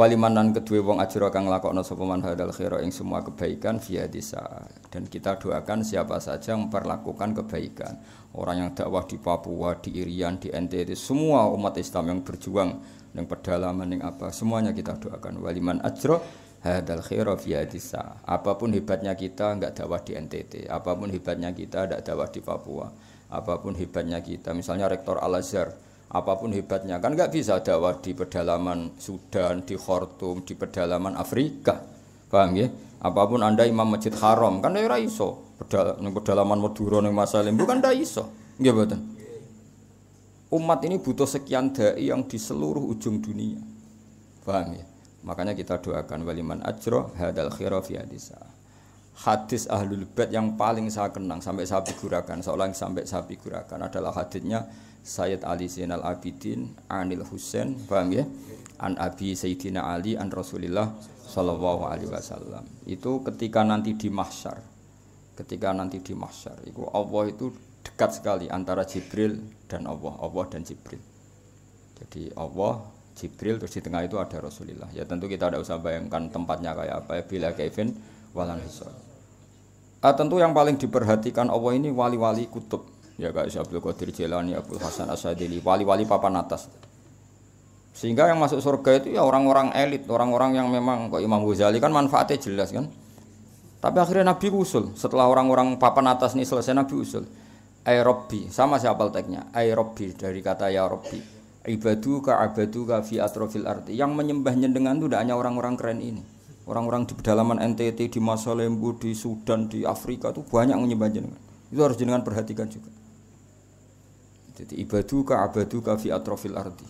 walimanan kedue wong ajra kang nglakokno sapa man hadal khaira ing semua kebaikan via desa. Dan kita doakan siapa saja yang memperlakukan kebaikan. Orang yang dakwah di Papua, di Irian, di NTT, semua umat Islam yang berjuang yang pedalaman yang apa, semuanya kita doakan waliman ajra hadal khaira via desa. Apapun hebatnya kita enggak dakwah di NTT, apapun hebatnya kita enggak dakwah di Papua, apapun hebatnya kita misalnya rektor Al-Azhar, apapun hebatnya kan enggak bisa dakwah di pedalaman Sudan, di Khartoum, di pedalaman Afrika. Paham ya? Apapun Anda imam Masjid Haram kan ora iso. Pedalaman Madura ning Masalim bukan ndak iso. Nggih mboten. Umat ini butuh sekian dai yang di seluruh ujung dunia. Paham ya? Makanya kita doakan waliman ajra hadal khaira fi hadisa. Hadis Ahlul Bait yang paling saya kenang sampai saya figurakan, seolah sampai saya figurakan adalah hadisnya Sayyid Ali Zainal Abidin Anil Husain, paham ya? An Abi Sayyidina Ali an Rasulillah sallallahu alaihi wasallam. Itu ketika nanti di mahsyar. Ketika nanti di mahsyar, itu Allah itu dekat sekali antara Jibril dan Allah dan Jibril. Jadi Allah, Jibril, terus di tengah itu ada Rasulullah. Ya tentu kita tidak usah bayangkan tempatnya kayak apa ya, bila kaifin walan hisab. Tentu yang paling diperhatikan Allah ini wali-wali kutub. Ya kayak Syekh Abdul Qadir Jailani, Abdul Hasan Asyadili, wali-wali papan atas. Sehingga yang masuk surga itu ya orang-orang elit, orang-orang yang memang kok Imam Ghazali kan manfaatnya jelas kan. Tapi akhirnya Nabi usul, setelah orang-orang papan atas ini selesai Nabi usul. Ay Rabbi, sama siapa teknya? Ay Rabbi dari kata ya Rabbi. Ibaduka abaduka fi atrofil arti. Yang menyembah nyendengan itu tidak hanya orang-orang keren ini. Orang-orang di pedalaman NTT, di Masalembu, di Sudan, di Afrika itu banyak menyembah jenengan. Itu harus jenengan perhatikan juga. Jadi ibaduka abaduka fi atrofil arti.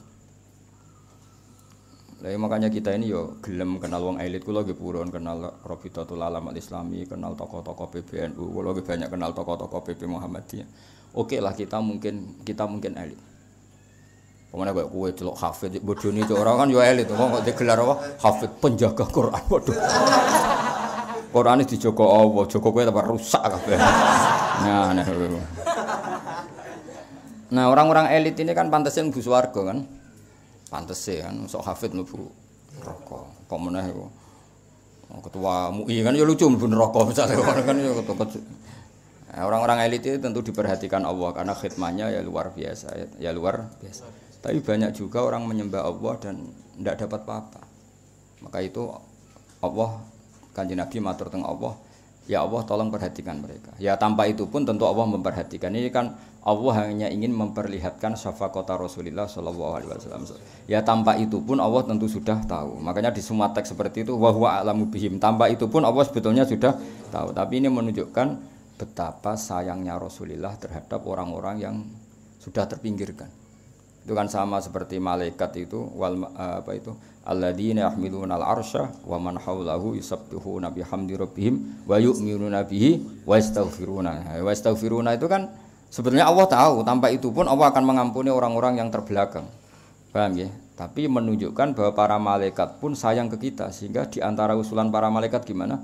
Lah makanya kita ini yo gelem kenal wong elit kula nggih purun kenal Rabitatul Alam Al-Islami, kenal tokoh-tokoh PBNU, kula nggih banyak kenal tokoh-tokoh PP Muhammadiyah. Oke lah kita mungkin elit. Pemane kok kowe celok hafid bodoni cok ora kan yo elit kok digelar apa? Hafid penjaga Quran. Waduh. Qurane dijaga Allah, jaga kowe tambah rusak kabeh. Nah, orang-orang elit ini kan pantasnya mlebu swarga kan. Pantes kan sok hafid mlebu neraka. Kok meneh iku. Ketua MUI kan ya lucu mlebu neraka misale kan ya orang-orang elit itu tentu diperhatikan Allah karena khidmahnya ya luar biasa. Tapi banyak juga orang menyembah Allah dan tidak dapat apa-apa. Maka itu Allah Kanjeng Nabi matur teng Allah, ya Allah tolong perhatikan mereka. Ya tanpa itu pun tentu Allah memperhatikan. Ini kan Allah hanya ingin memperlihatkan syafaqata Rasulullah sallallahu alaihi wasallam. Ya tanpa itu pun Allah tentu sudah tahu. Makanya di semua teks seperti itu wa huwa a'lamu bihim. Tanpa itu pun Allah sebetulnya sudah tahu. Tapi ini menunjukkan betapa sayangnya Rasulullah terhadap orang-orang yang sudah terpinggirkan. Itu kan sama seperti malaikat itu alladzina yahmiluna al-arsya wa man haulahu yusabbihuna bihamdi rabbihim wa yu'minuna bihi wa yastaghfiruna. Wa yastaghfiruna itu kan sebetulnya Allah tahu, tanpa itu pun Allah akan mengampuni orang-orang yang terbelakang. Paham ya? Tapi menunjukkan bahwa para malaikat pun sayang ke kita, sehingga di antara usulan para malaikat gimana?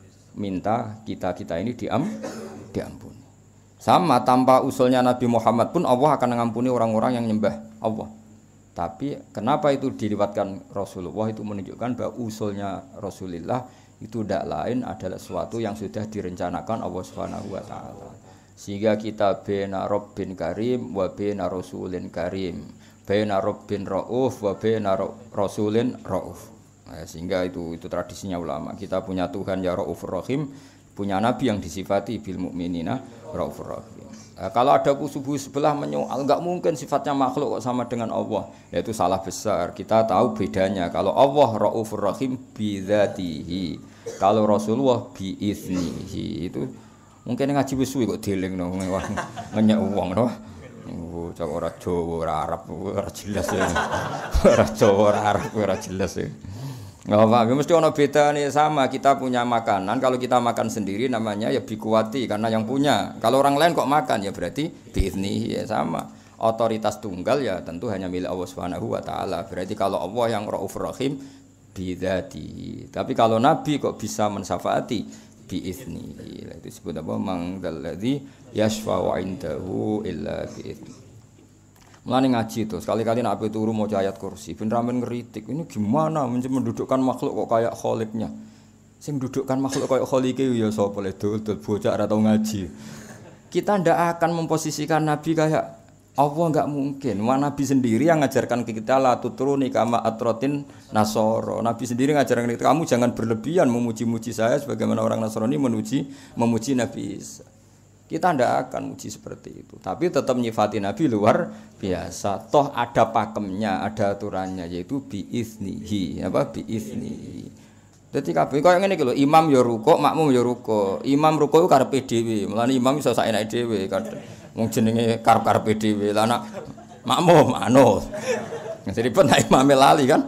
Minta kita ini diampuni. Sama tanpa usulnya Nabi Muhammad pun Allah akan mengampuni orang-orang yang nyembah Allah. Tapi kenapa itu diriwayatkan Rasulullah itu menunjukkan bahwa usulnya Rasulullah itu tidak lain adalah sesuatu yang sudah direncanakan Allah Subhanahu wa taala. Sehingga kita baina Rabbin Karim wa baina Rasulin Karim, baina Rabbin Rauf wa baina Rasulin Rauf. Nah, sehingga itu tradisinya ulama. Kita punya Tuhan ya Raufur Rahim, punya nabi yang disifati bil mukminina Raufur Rahim. Kalau ada kusubuh sebelah menyoal, enggak mungkin sifatnya makhluk kok sama dengan Allah. Ya itu salah besar. Kita tahu bedanya. Kalau Allah Raufur Rahim bi dzatihi, kalau Rasulullah bi iznihi. Itu mungkin ngaji wis suwi kok dieling no ngenyek wong no. Cak ora Jawa ora Arab ora jelas ya. Ora Jawa ora Arab ora jelas ya. Enggak apa, mesti ono bedane sama. Kita punya makanan, kalau kita makan sendiri namanya ya bikuwati karena yang punya. Kalau orang lain kok makan ya berarti biizni ya sama. Otoritas tunggal ya tentu hanya milik Allah Subhanahu wa taala. Berarti kalau Allah yang Raufur Rahim bidzati. Tapi kalau nabi kok bisa mensyafaati biizni. Itu disebut apa? Mangdalladzi yashfa'u 'indahu illa biizni. Mulane ngaji tuh, sekali-kali nek ape turu maca ayat kursi, ben ramen ngeritik. Ini gimana mendudukkan makhluk kok kayak kholiknya. Sing dudukkan makhluk kayak kholike ya sapa le dul bocah ora tau ngaji. Kita ndak akan memposisikan Nabi kayak Allah, enggak mungkin. Nabi sendiri yang ngajarkan ke kita la tutruni kama atrotin nasoro. Nabi sendiri ngajarkan kita, kamu jangan berlebihan memuji-muji saya sebagaimana orang Nasrani memuji Nabi Isa. Kita ndak akan muji seperti itu. Tapi tetap nyifati Nabi luar biasa. Toh ada pakemnya, ada aturannya yaitu biiznihi, apa biiznihi. Dadi kabeh koyo ngene iki lho, imam ya rukuk, makmum ya rukuk. Imam rukuk ku karepe dhewe. Mulane imam iso saenake dhewe kadang. Wong jenenge karep-karepe dhewe. Lah anak makmum anut. Jadi pun nek imame lali kan.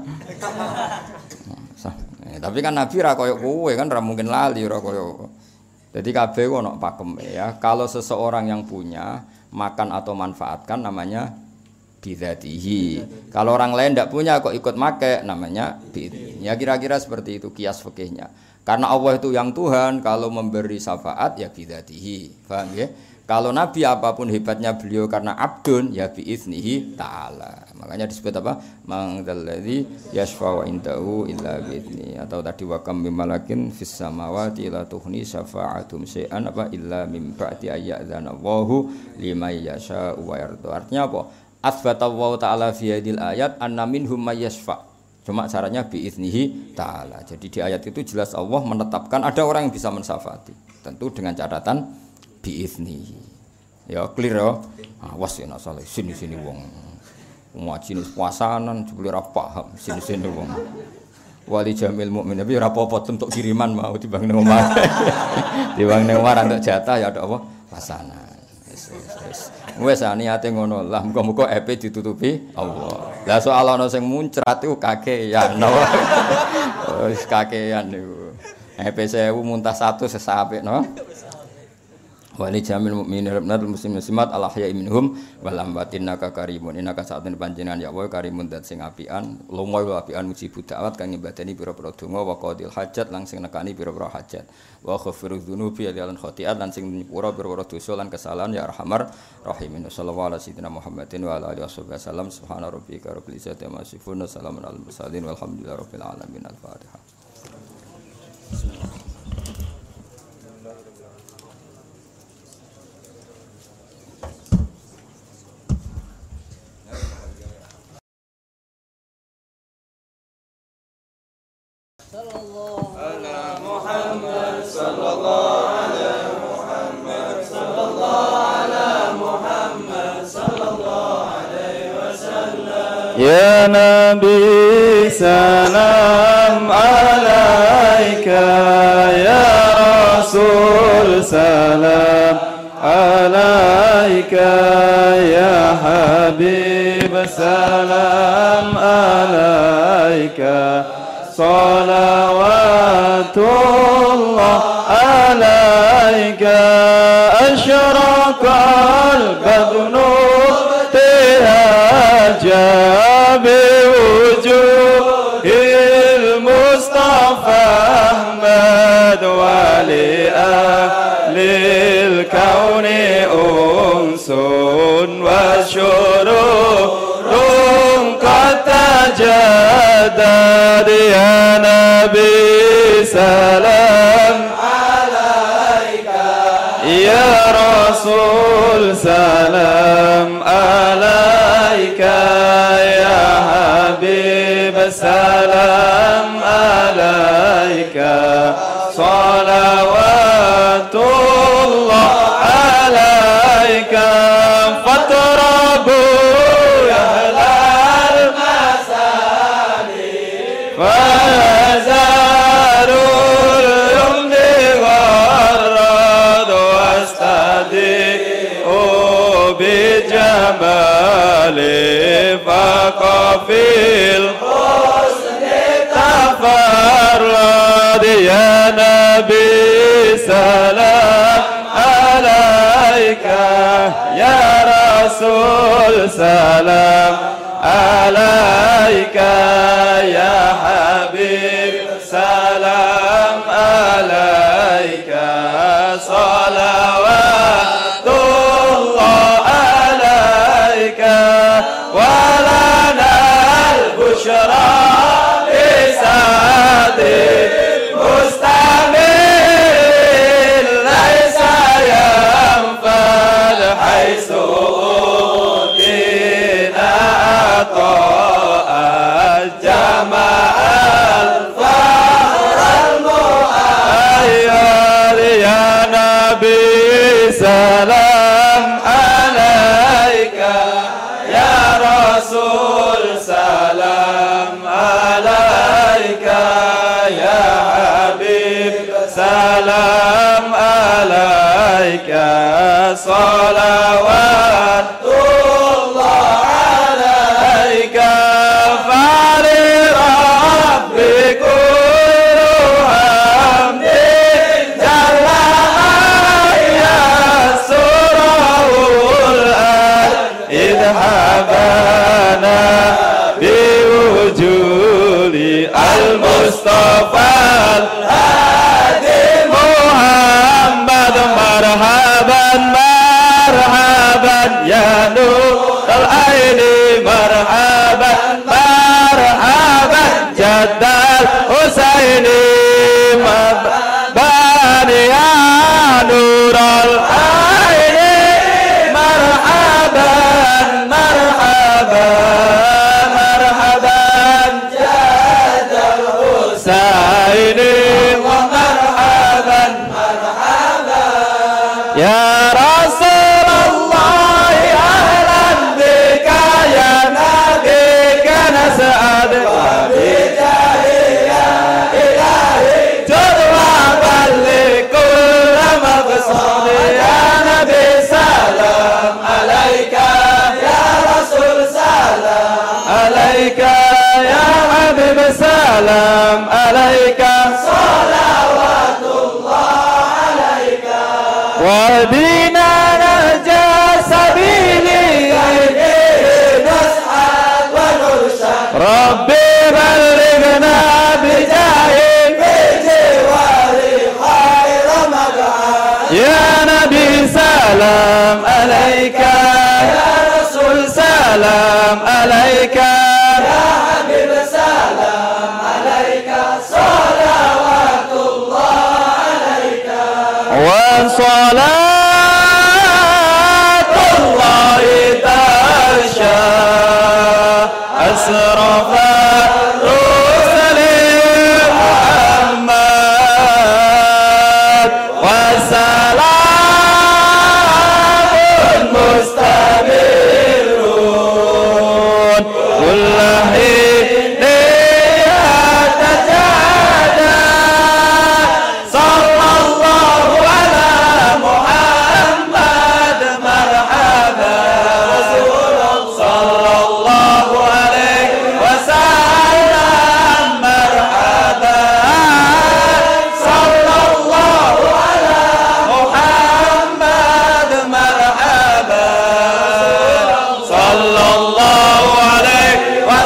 Tapi kan Nabi ra koyo kowe kan ra mungkin lali ora koyo. Jadi kabeh ono pakeme ya. Kalau seseorang yang punya makan atau manfaatkan namanya bidzatihi. Kalau orang lain tidak punya kok ikut make namanya bidzatihi. Ya kira-kira seperti itu kias fikihnya. Karena Allah itu yang Tuhan, kalau memberi syafaat ya bidzatihi. Paham ya? Kalau Nabi apapun hebatnya beliau karena abdun ya biiznihi ta'ala. Makanya disebut apa? Mangdalladzi yashfa'u indahu illa bi'izni. Atau tadi wa kam malakin fis samawati la tughni syafa'atum syai'an apa illa min ba'di ayyadzana Allahu liman yasha'u wa yarda. Artinya apa? Atsbata Allah taala fi hadil ayat anna minhum may yashfa'. Cuma caranya biiznihi ta'ala. Jadi di ayat itu jelas Allah menetapkan ada orang yang bisa mensyafaati. Tentu dengan catatan biiznihi. Ya clear ya. Awas ya nak salah sini-sini wong. Ngaji nis puasanan jebule ora paham sini-sini wong. Wali jamil mukmin tapi ora apa-apa untuk kiriman mau dibang nang omah. Dibang nang omah untuk jatah ya ada apa? Pasanan. Wes niate ngono lah muga-muga epe ditutupi Allah. Lah soal ana sing muncrat iku kakean. Wis kakean niku. Epe 1000 muntah 100 sesapik no. Wali jamil mukminin rabbil muslimin muslimat al ahya'i minhum wal amwat innaka karimun innaka sa'atun panjenengan ya Allah karimun dat sing apian lumoy apian mujibud da'wat kang nyembadani pira-pira donga wa qadil hajat lan sing nekani pira-pira hajat wa ghafirudz dzunubi lan khotiat lan sing nyepura pira-pira dosa lan kesalahan ya arhamar rahimin sallallahu alaihi Muhammadin wa ala alihi wasallam subhana rabbika rabbil izzati amma yasifun salamun alal mursalin walhamdulillahi rabbil alamin al-fatihah. Ya Nabi salam alaika, ya Rasul salam alaika, ya Habib salam alaika, salawatullah alaika, asyraqal badru جاب وجوه المصطفى أحمد ولأهل الكون أنس وشرور قد تجدد يا نبي سلام عليك يا رسول سلام عليك يا حبيب سلام عليك صلوات الله عليك فاطربوا يا أهل المسالي فزاروا اليمن والرد واستديئوا بجمالي فقفي الحسن تفرد يا نبي سلام عليك يا رسول سلام عليك يا حبيب سلام عليك صلوات الله عليك مستعمل ليس ينفد حيث أوتينا عطاء الجماع الفخر المؤيد يا نبي سلام عليك يا رسول سلام عليك يا حبيب سلام عليك صلوات الله عليك فلرب كل حمد جل يسره الآن إذ حبانا بوجود المصطفى الهادي محمد مرحبا مرحبا يا نور العين مرحبا مرحبا جد الحسين مرحبا يا نور العين مرحبا مرحبا مرحبا جد الحسين ومرحبا مرحبا يا رسول الله أهلا بك يا نبيك نسعد وبجاه يا إلهي تدعى لكل مقصود يا نبي سلام عليك يا رسول سلام عليك يا حبيب سلام عليك صلوات الله عليك وبنا نرجى سبيلي نسعد ونرشد ربي بلغنا بجاهك بجوار خير مقعد يا نبي سلام عليك يا رسول سلام عليك يا حبيب سلام عليك صلوات الله عليك وصلاة الله تغشى أسرف الرسل محمد وسلام مستمرون كل حين يتجادى صلى الله على محمد مرحبا رسول صلى الله عليه وسلم مرحبا صلى الله على محمد مرحبا صلى الله عليه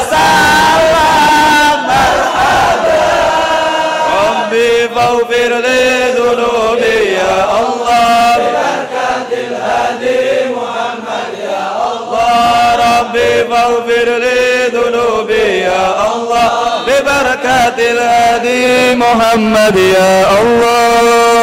وسلم مرحبا ربي فاغفر لي ذنوبي يا الله ببركة الهادي محمد يا الله ربي فاغفر لي ذنوبي يا الله ببركة الهادي محمد يا الله